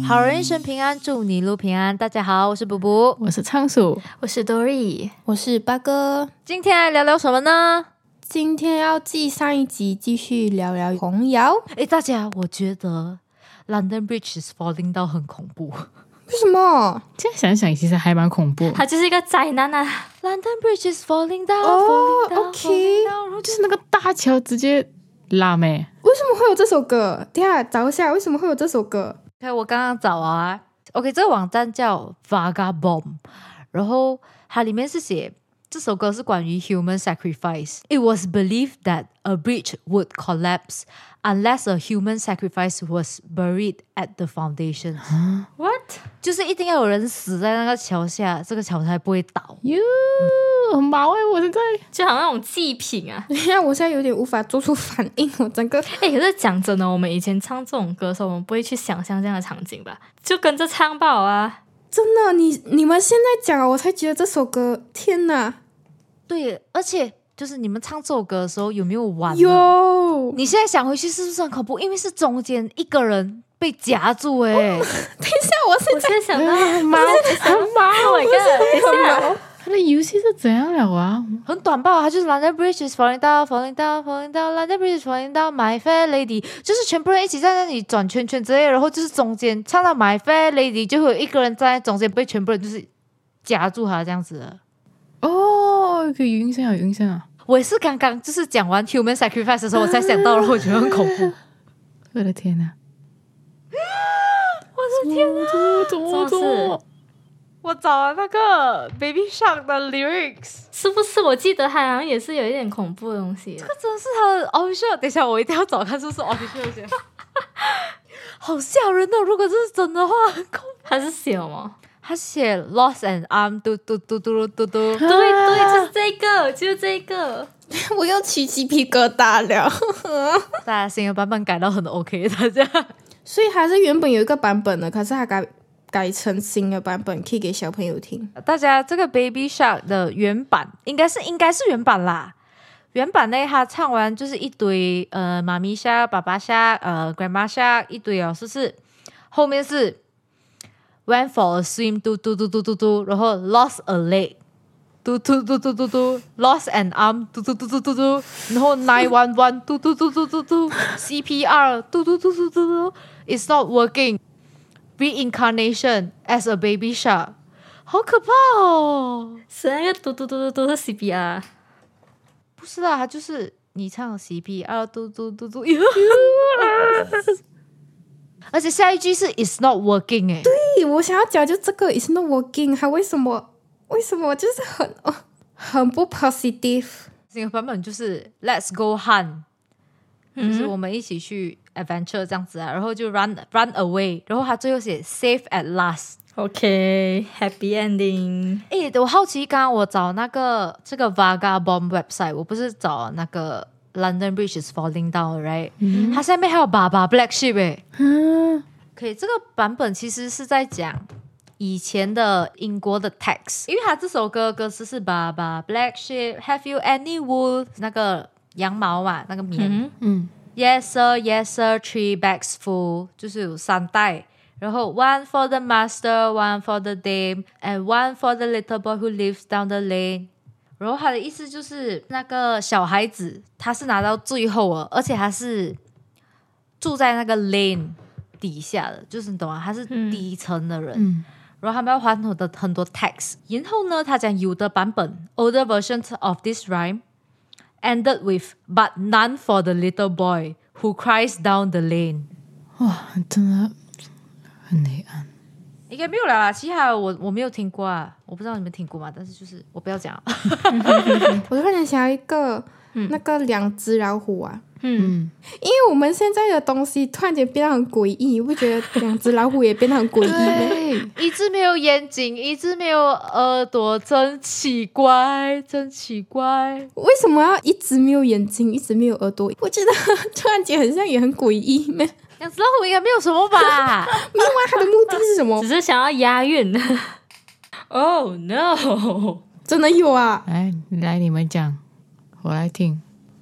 好人一生平安，祝你路平安。大家好，我是卜卜， 我是仓鼠， 我是 Dory， 我是八哥。 今天来聊聊什么呢？ 今天要继上一集继续聊聊童谣。 大家，我觉得 London Bridge is falling down 很恐怖。 为什么？ 这样想想其实还蛮恐怖。 它就是一个灾难啊。 London Bridge is falling down， falling down， OK， falling down，然后就是那个大桥直接拉咩？ 为什么会有这首歌？等一下找一下，为什么会有这首歌？ Okay，我刚刚找啊 ，OK， 这个网站叫 Vagabond， 然后它里面是写这首歌是关于 human sacrifice. It was believed that a bridge would collapse unless a human sacrifice was buried at the foundation. What？ 就是一定要有人死在那个桥下，这个桥才不会倒。 哟，很毛我现在就好像那种祭品啊。 等一下，我现在有点无法做出反应，我整个可是讲真的，我们以前唱这种歌的时候，我们不会去想象这样的场景吧？就跟着唱吧啊。 真的，你们现在讲，我才觉得这首歌，天哪！ 对，而且就是你们唱这首歌的时候有没有玩？ 有。 你现在想回去是不是很恐怖？因为是中间一个人被夹住等一下，我现在想到很毛 ，Oh my god！ 等一下， 他的游戏是怎样了啊？ 很短吧，它就是 London Bridge is falling down, falling down, falling down, London Bridge is falling down, My Fair Lady， 就是全部人一起在那里转圈圈之类的，然后就是中间唱到 My Fair Lady， 就会有一个人站在中间被全部人就是夹住他这样子的。 哦，可以有印象，有印象啊！ 我也是刚刚就是讲完 human sacrifice 的时候，我才想到，然后我觉得很恐怖。 我的天哪！ 我的天哪！ 怎么？ 我找了那个 Baby Shark 的 lyrics， 是不是？我记得它好像也是有一点恐怖的东西。 这个真的是他的 official。等一下，我一定要找看是不是 official 先。好吓人哦！如果这是真的话，很恐怖。 它是写什么？ 他写 lost and arm 嘟嘟嘟嘟嘟嘟， 对对，就是这个，就是这个。 我又起鸡皮疙瘩了。 大家新的版本改到很 OK， 大家。 所以还是原本有一个版本的，可是它改成新的版本，可以给小朋友听。 大家这个 Baby Shark 的原版应该是原版啦。原版呢，他唱完就是一堆妈咪 Shark、爸爸 Shark、Grandma Shark 一堆哦，是不是？后面是 Went for a swim 嘟嘟嘟嘟嘟嘟，然后 lost a leg 嘟嘟嘟嘟嘟嘟 ，lost an arm 嘟嘟嘟嘟嘟嘟，然后911嘟嘟嘟嘟嘟嘟 ，CPR 嘟嘟嘟嘟嘟嘟 ，It's not working。Reincarnation as a baby shark， 好可怕哦！ 是那个嘟嘟嘟嘟嘟是 CPR， 不是啦，它就是你唱 CPR 嘟嘟嘟嘟，而且下一句是 It's not working 对，我想要讲就这个 It's not working， 它为什么就是很不 positive。 这个版本就是 Let's go hunt，就是我们一起去 adventure 这样子啊，然后就 run away， 然后他最后写 safe at last。OK，happy ending。 我好奇，刚刚我找这个 Vagabond website， 我不是找那个 London Bridge is falling down right，它下面还有爸爸 Black Sheep 可以，这个版本其实是在讲以前的英国的 text， 因为他这首歌歌词是爸爸 Black Sheep Have you any wool， 那个羊毛嘛，那个棉Yes sir, yes sir, 3 bags full， 就是有3袋，然后 one for the master, one for the dame, and one for the little boy who lives down the lane。 然后他的意思就是那个小孩子他是拿到最后了，而且他是住在那个 lane 底下的，就是你懂吗？他是底层的人，然后他们要还很多 tax。 然后呢，他讲有的版本 older versions of this rhyme ended with but none for the little boy who cries down the lane。 哇，真的很黑暗。 应该没有啦，其他我没有听过啊，我不知道你们听过吗？但是就是我不要讲我突然想要一个那个两只老虎啊，因为我们现在的东西突然间变得很诡异，你不觉得两只老虎也变得很诡异吗？ 一只没有眼睛，一只没有耳朵，真奇怪，真奇怪。 为什么要一只没有眼睛，一只没有耳朵？我觉得突然间很像也很诡异咩？ 两只老虎应该没有什么吧？ 没有啊，它的目的是什么？ 只是想要押韵。Oh no！ 真的有啊！ 来，你们讲，我来听。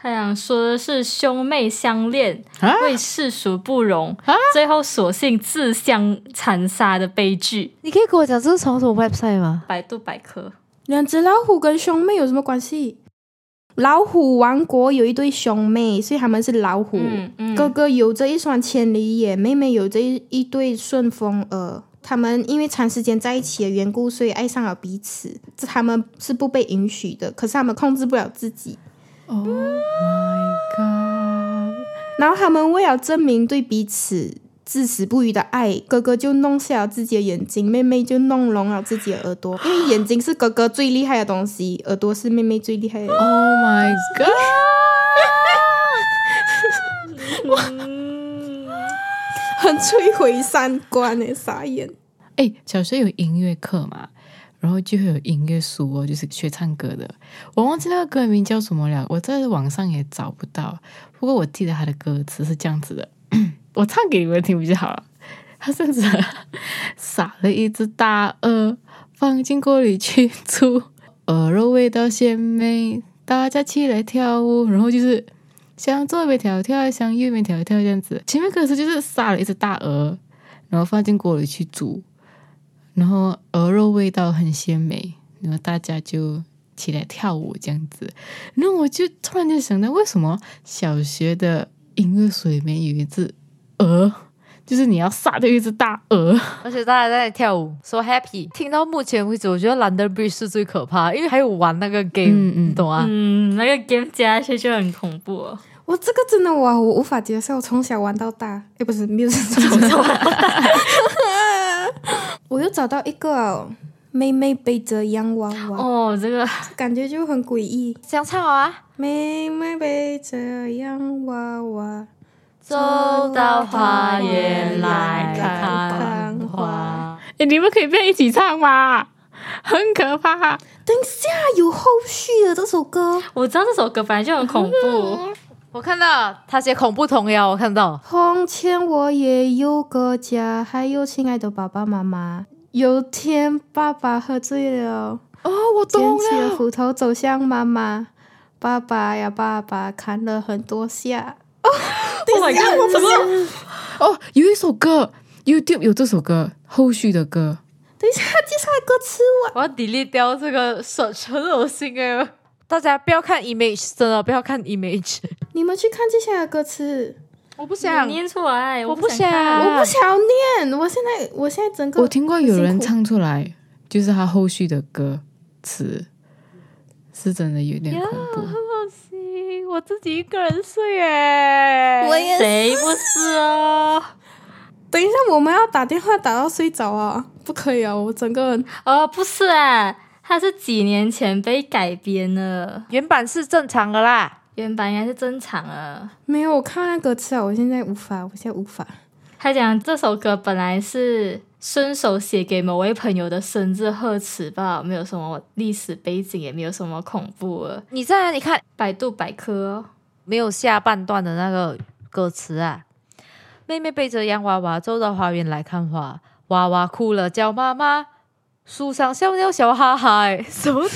他想说的是兄妹相恋，为世俗不容，最后索性自相残杀的悲剧。 你可以跟我讲这是从什么 website 吗？ 百度百科。 两只老虎跟兄妹有什么关系？老虎王国有一对兄妹，所以他们是老虎。哥哥有着一双千里眼，妹妹有着一对顺风耳。他们因为长时间在一起的缘故，所以爱上了彼此。他们是不被允许的，可是他们控制不了自己。 Oh my god！ 然后他们为了证明对彼此至死不渝的爱，哥哥就弄瞎了自己的眼睛，妹妹就弄聋了自己的耳朵。因为眼睛是哥哥最厉害的东西，耳朵是妹妹最厉害的。 Oh my god！ 很摧毁三观耶，傻眼。 小时候有音乐课嘛，然后就会有音乐书哦，就是学唱歌的。我忘记那个歌名叫什么了，我在网上也找不到。不过我记得他的歌词是这样子的，我唱给你们听比较好了。他甚至撒了一只大鹅，放进锅里去煮，鹅肉味道鲜美，大家起来跳舞。然后就是向左边跳跳，向右边跳跳这样子。前面歌词就是杀了一只大鹅，然后放进锅里去煮。然后鹅肉味道很鲜美，然后大家就起来跳舞这样子。然后我就突然间想到，为什么小学的音乐书里面有一只鹅，就是你要杀掉一只大鹅， 而且大家在跳舞 so happy。 听到目前为止，我觉得 London Bridge 是最可怕的，因为还有玩那个 game，你懂啊？ 那个 game 加下去就很恐怖哦。 我这个真的我无法接受，从小玩到大。不是，没有从小玩到大。我又找到一个妹妹背着洋娃娃。 哦，这个感觉就很诡异。 想唱啊！ 妹妹背着洋娃娃， 走到花园来看花。 你们可以不要一起唱吗？很可怕。 等一下，有后续的这首歌。 我知道这首歌本来就很恐怖。 我看到他写恐怖童谣，我看到。 从前我也有个家，还有亲爱的爸爸妈妈。有天爸爸喝醉了， 我懂了， 捡起了斧头走向妈妈。爸爸呀爸爸，砍了很多下。等一下，我不是有一首歌 YouTube 有这首歌后续的歌。 等一下，接下来歌词我要 delete 掉这个search，很恶心哎！大家不要看 image， 真的不要看 image。 你们去看接下来的歌词。 我不想念出来， 我不想念。我现在整个我听过有人唱出来，就是他后续的歌词是真的有点恐怖， 很恶心。我自己一个人睡耶， 我也谁不是哦？ 等一下，我们要打电话打到睡着啊？不可以啊！我整个人不是啊，它是几年前被改编的， 原版是正常的啦。 原版应该是正常的。 没有，我看那歌词啊，我现在无法。 他讲这首歌本来是顺手写给某位朋友的生日贺词吧，没有什么历史背景，也没有什么恐怖的。 你在哪里看？ 百度百科没有下半段的那个歌词啊。妹妹背着洋娃娃走到花园来看花，娃娃哭了叫妈妈，树上小鸟笑哈哈。什么？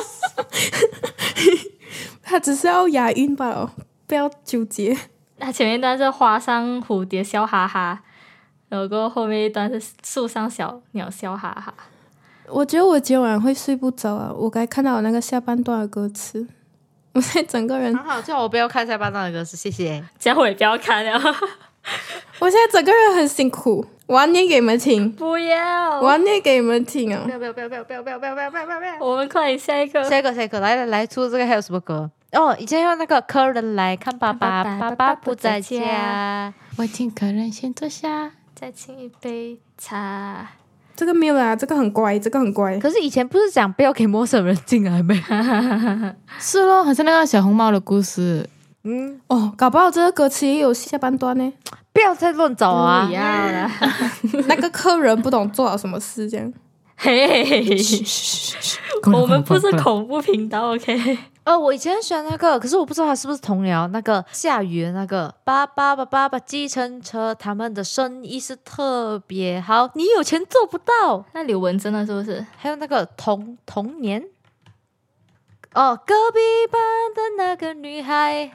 他只是要押韵罢了，不要纠结。 他前面一段是花上蝴蝶笑哈哈，然后后面一段是树上小鸟笑哈哈。 我觉得我今晚会睡不着啊！我该看到那个下半段的歌词，我现在整个人好，叫我不要看下半段的歌词，谢谢。 这样我也不要看了。 我现在整个人很辛苦，我要念给你们听。 不要， 我要念给你们听啊！ 不要！ 我们快点下一个， 来，除了这个还有什么歌？以前有那个客人来看爸爸，爸爸不在家， 我请客人先坐下， 再请一杯茶。 这个没有啦，这个很乖。 可是以前不是讲不要给陌生人进来没？ 是咯，好像那个小红帽的故事。 搞不好这个歌词也有下半段呢。 不要再乱找啊！ 不要啦。 那个客人不懂做了什么事，这样。 嘿，我们不是恐怖频道 ，OK？ 我以前很喜欢那个，可是我不知道它是不是童谣。那个下雨的那个爸爸计程车，他们的生意是特别好，你有钱做不到。 那刘文真的是不是？ 还有那个童年。隔壁班的那个女孩。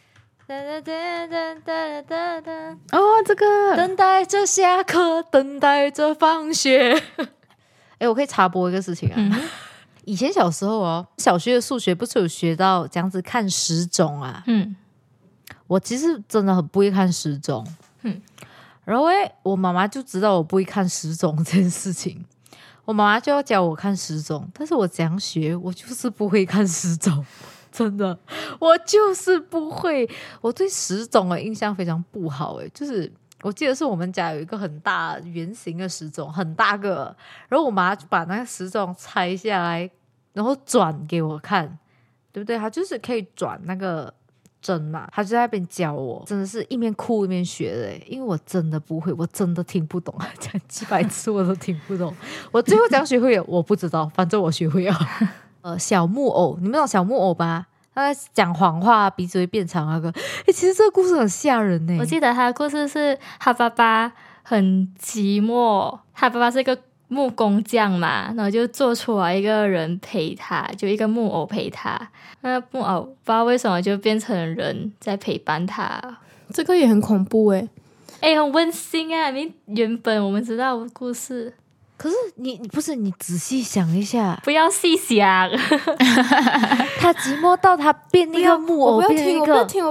哦，这个等待着下课，等待着放学。我可以插播一个事情啊。以前小时候哦，小学的数学不是有学到这样子看时钟啊？我其实真的很不会看时钟。然后我妈妈就知道我不会看时钟这件事情，我妈妈就要教我看时钟，但是我怎样学，我就是不会看时钟。真的，我就是不会，我对时钟的印象非常不好。就是我记得是我们家有一个很大圆形的时钟，很大个，然后我妈就把那个时钟拆下来，然后转给我看，对不对？她就是可以转那个针嘛，她就在那边教我，真的是一面哭一面学的。因为我真的不会，我真的听不懂，讲几百次我都听不懂。我最后怎样学会了我不知道，反正我学会了。小木偶，你们懂小木偶吧？他在讲谎话，鼻子会变长那个。其实这个故事很吓人呢。 我记得他的故事是他爸爸很寂寞，他爸爸是一个木工匠嘛，然后就做出来一个人陪他，就一个木偶陪他。那木偶不知道为什么就变成人在陪伴他。 这个也很恐怖很温馨啊！原本我们知道的故事。 可是你不是你仔细想一下， 不要细想。 他寂寞到他变一个木偶，变一个， 我不要听。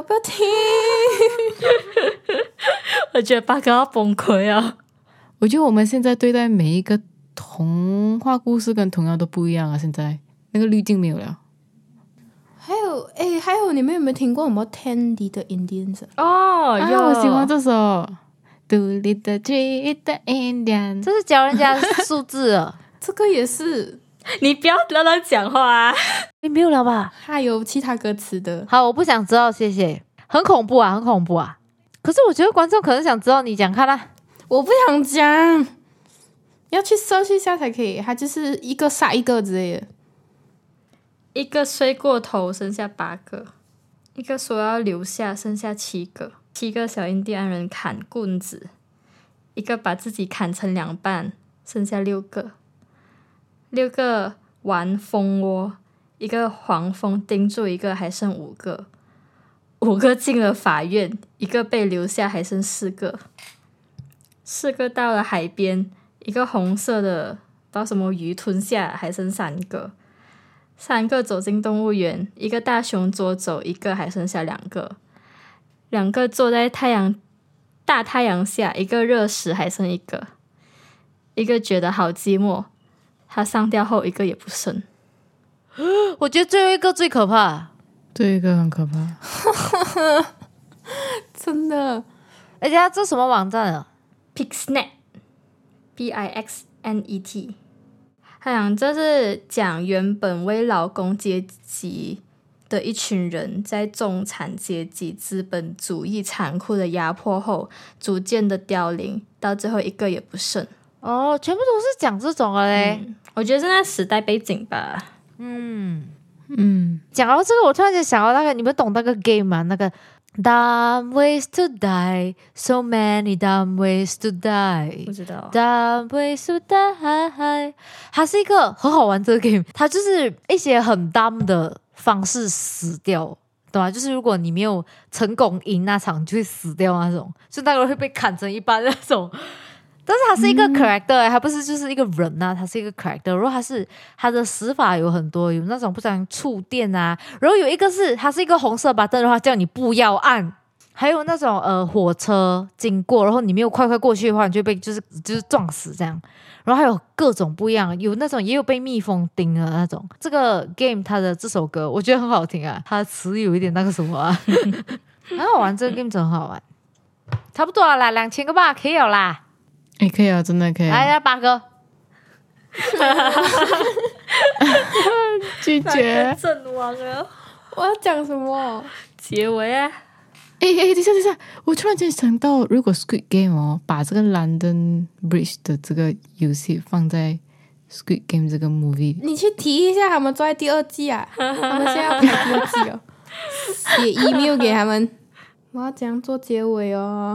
我觉得八哥要崩溃啊！ 我觉得我们现在对待每一个童话故事跟童谣都不一样啊，现在那个滤镜没有了。 还有你们有没有听过什么 Tandy 的 Indians？ 有， 我喜欢这首。独立的 tree 的 Indian， 这是教人家数字了。 这个也是， 你不要乱讲话啊！ 你没有了吧？ 还有其他歌词的。 好，我不想知道，谢谢。很恐怖啊，很恐怖啊！可是我觉得观众可能想知道，你讲看啦。 我不想讲，要去search一下才可以。它就是一个杀一个之类的。 一个睡过头，剩下8个；一个说要留下，剩下7个。7个小印第安人砍棍子，一个把自己砍成2半，剩下6个。6个玩蜂窝，一个黄蜂盯住一个，还剩5个。5个进了法院，一个被留下，还剩4个。4个到了海边，一个红色的把什么鱼吞下，还剩3个。3个走进动物园，一个大熊捉走，一个还剩下2个。2个坐在大太阳下，一个热死，还剩1个。一个觉得好寂寞，他上吊后一个也不剩。 我觉得最后一个最可怕， 这一个很可怕。 真的。 而且这什么网站啊？ Pixnet Pixnet， 他讲这是讲原本为劳工阶级的一群人在中产阶级资本主义残酷的压迫后逐渐的凋零，到最后一个也不剩。 全部都是讲这种的嘞。 我觉得是那时代背景吧。 讲到这个，我突然间想到那个，你们懂那个 game 吗？那个 Dumb ways to die, so many dumb ways to die。 不知道。 Dumb ways to die， 它是一个很好玩这个 game， 它就是一些很 dumb 的方式死掉，懂吗？就是如果你没有成功赢那场，就会死掉那种，就那个人会被砍成一半那种。但是他是一个 character，他不是就是一个人啊，他是一个 character。然后他的死法有很多，有那种不想触电啊，然后有一个是他是一个红色 button 的话，叫你不要按。还有那种火车经过，然后你没有快过去的话，你就被就是撞死这样。然后还有各种不一样，有那种也有被蜜蜂叮的那种。这个 game 它的这首歌我觉得很好听啊，它的词有一点那个什么啊，很好玩，这个 game 真好玩。差不多了啦，2000个吧，可以了啦。 可以啊，真的可以。 来8个。 拒绝。 阵亡了。 我要讲什么？ 结尾啊！ 等一下，我突然间想到，如果 Squid Game 把这个 London Bridge 的这个游戏放在 Squid Game 这个 movie， 你去提一下，他们做在第2季啊，他们现在要拍第2季哦，写 email 给他们。我要怎样做结尾哦？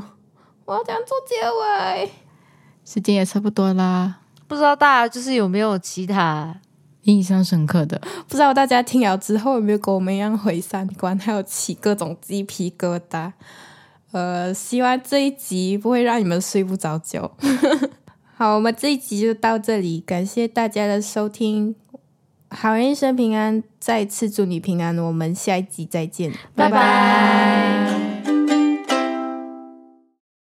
时间也差不多啦。 不知道大家就是有没有其他印象深刻的。 不知道大家听了之后有没有跟我们一样毁三观，还有起各种鸡皮疙瘩。希望这一集不会让你们睡不着觉。好，我们这一集就到这里，感谢大家的收听，好人一生平安，再次祝你平安，我们下一集再见， 拜拜。